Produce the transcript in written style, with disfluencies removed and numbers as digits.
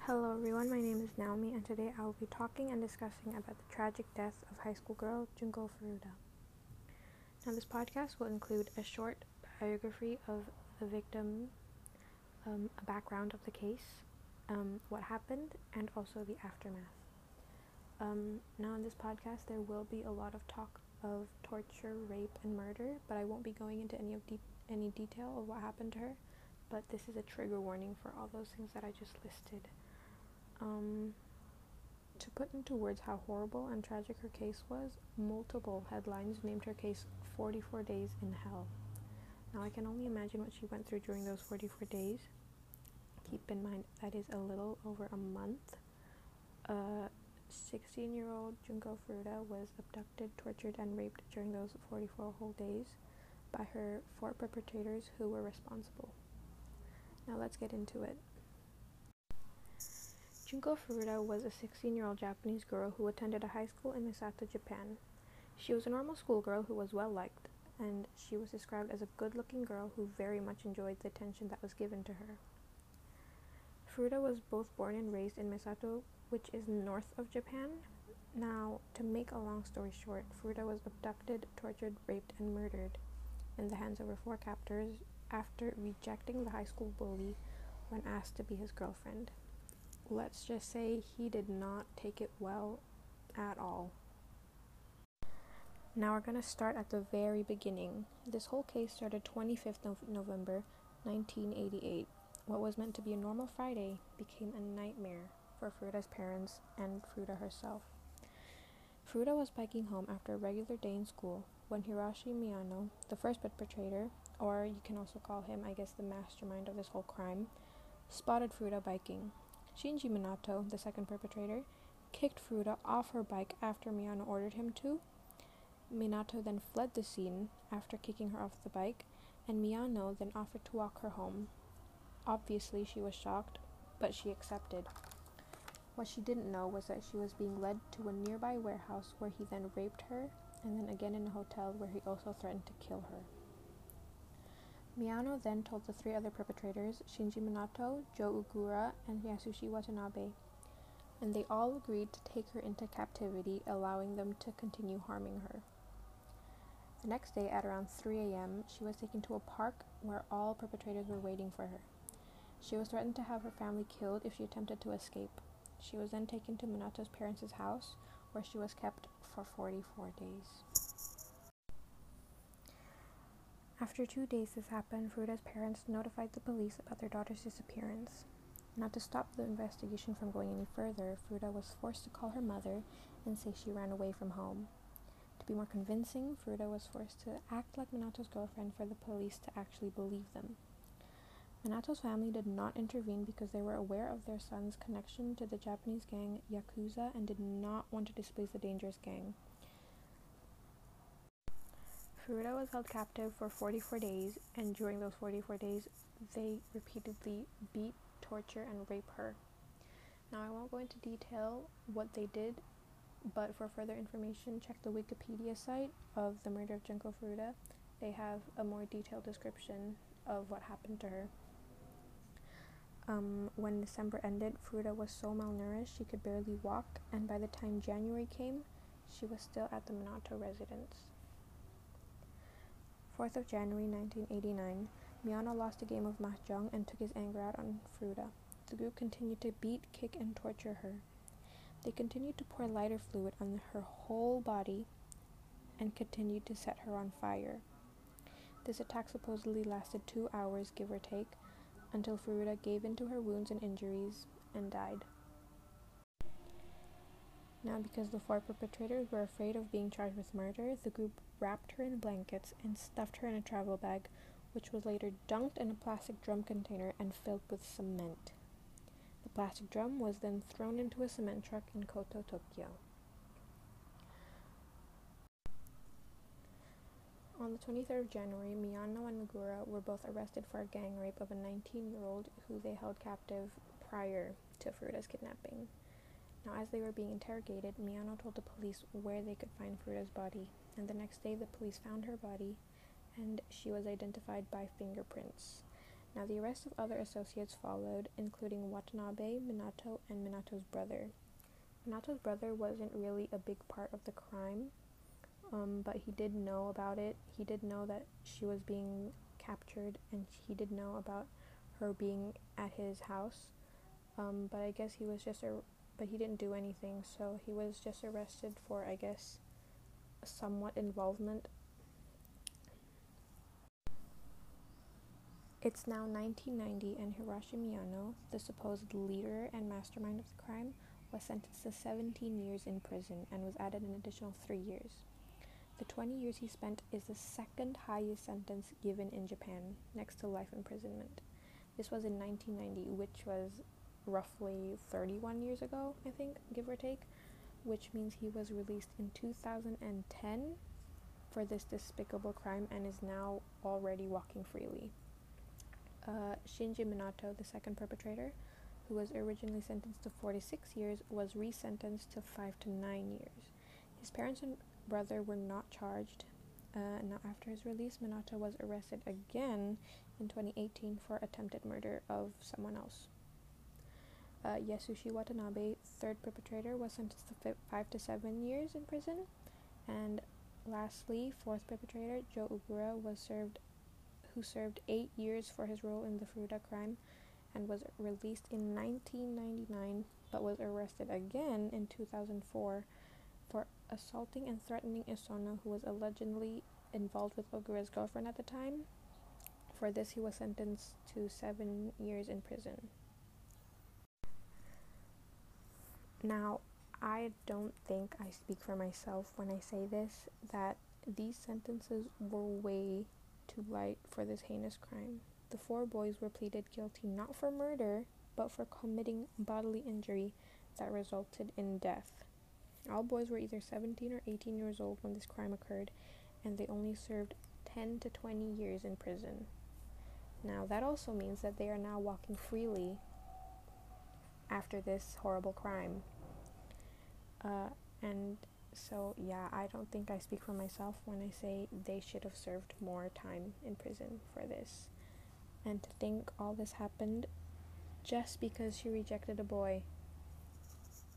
Hello everyone, my name is Naomi and today I will be talking and discussing about the tragic death of high school girl Junko Furuta. Now this podcast will include a short biography of the victim, a background of the case, what happened, and also the aftermath. Now in this podcast there will be a lot of talk of torture, rape, and murder, but I won't be going into any detail of what happened to her, but this is a trigger warning for all those things that I just listed. To put into words how horrible and tragic her case was, multiple headlines named her case 44 Days in Hell. Now I can only imagine what she went through during those 44 days. Keep in mind that is a little over a month. 16-year-old Junko Furuta was abducted, tortured, and raped during those 44 whole days by her 4 perpetrators who were responsible. Now let's get into it. Junko Furuta was a 16-year-old Japanese girl who attended a high school in Misato, Japan. She was a normal schoolgirl who was well-liked, and she was described as a good-looking girl who very much enjoyed the attention that was given to her. Furuta was both born and raised in Misato, which is north of Japan. Now, to make a long story short, Furuta was abducted, tortured, raped, and murdered in the hands of her 4 captors after rejecting the high school bully when asked to be his girlfriend. Let's just say he did not take it well at all. Now we're going to start at the very beginning. This whole case started 25th of November 1988. What was meant to be a normal Friday became a nightmare for Furuta's parents and Furuta herself. Furuta was biking home after a regular day in school when Hiroshi Miyano, the first perpetrator, or you can also call him, I guess, the mastermind of this whole crime, spotted Furuta biking. Shinji Minato, the second perpetrator, kicked Furuta off her bike after Miyano ordered him to. Minato then fled the scene after kicking her off the bike, and Miyano then offered to walk her home. Obviously, she was shocked, but she accepted. What she didn't know was that she was being led to a nearby warehouse where he then raped her, and then again in a hotel where he also threatened to kill her. Miyano then told the 3 other perpetrators, Shinji Minato, Joe Ugura, and Yasushi Watanabe, and they all agreed to take her into captivity, allowing them to continue harming her. The next day, at around 3 a.m., she was taken to a park where all perpetrators were waiting for her. She was threatened to have her family killed if she attempted to escape. She was then taken to Minato's parents' house, where she was kept for 44 days. After 2 days this happened, Furuta's parents notified the police about their daughter's disappearance. Now, to stop the investigation from going any further, Furuta was forced to call her mother and say she ran away from home. To be more convincing, Furuta was forced to act like Minato's girlfriend for the police to actually believe them. Minato's family did not intervene because they were aware of their son's connection to the Japanese gang Yakuza and did not want to displease the dangerous gang. Furuta was held captive for 44 days, and during those 44 days, they repeatedly beat, torture, and rape her. Now, I won't go into detail what they did, but for further information, check the Wikipedia site of the murder of Junko Furuta. They have a more detailed description of what happened to her. When December ended, Furuta was so malnourished she could barely walk, and by the time January came, she was still at the Minato residence. 4th of January 1989, Miyano lost a game of mahjong and took his anger out on Furuta. The group continued to beat, kick, and torture her. They continued to pour lighter fluid on her whole body and continued to set her on fire. This attack supposedly lasted 2 hours, give or take, until Furuta gave in to her wounds and injuries and died. Now, because the 4 perpetrators were afraid of being charged with murder, the group wrapped her in blankets and stuffed her in a travel bag, which was later dunked in a plastic drum container and filled with cement. The plastic drum was then thrown into a cement truck in Koto, Tokyo. On the 23rd of January, Miyano and Ugura were both arrested for a gang rape of a 19-year-old who they held captive prior to Furuta's kidnapping. Now, as they were being interrogated, Miyano told the police where they could find Furuta's body, and the next day the police found her body, and she was identified by fingerprints. Now, the arrest of other associates followed, including Watanabe, Minato, and Minato's brother. Minato's brother wasn't really a big part of the crime, but he did know about it. He did know that she was being captured, and he did know about her being at his house. But I guess he was but he didn't do anything, so he was just arrested for, I guess, somewhat involvement. It's now 1990, and Hiroshi Miyano, the supposed leader and mastermind of the crime, was sentenced to 17 years in prison and was added an additional 3 years. The 20 years he spent is the second highest sentence given in Japan, next to life imprisonment. This was in 1990, which was roughly 31 years ago, I think, give or take, which means he was released in 2010 for this despicable crime and is now already walking freely. Shinji Minato, the second perpetrator, who was originally sentenced to 46 years, was resentenced to 5 to 9 years. His parents and brother were not charged. Now, after his release, Minato was arrested again in 2018 for attempted murder of someone else. Yasushi Watanabe, third perpetrator, was sentenced to 5 to 7 years in prison. And lastly, fourth perpetrator, Joe Ugura, who served 8 years for his role in the Furuta crime and was released in 1999, but was arrested again in 2004 for assaulting and threatening Isono, who was allegedly involved with Ogura's girlfriend at the time. For this, he was sentenced to 7 years in prison. Now, I don't think I speak for myself when I say this, that these sentences were way too light for this heinous crime. The 4 boys were pleaded guilty not for murder, but for committing bodily injury that resulted in death. All boys were either 17 or 18 years old when this crime occurred, and they only served 10 to 20 years in prison. Now, that also means that they are now walking freely after this horrible crime. And so, yeah, I don't think I speak for myself when I say they should have served more time in prison for this. And to think all this happened just because she rejected a boy.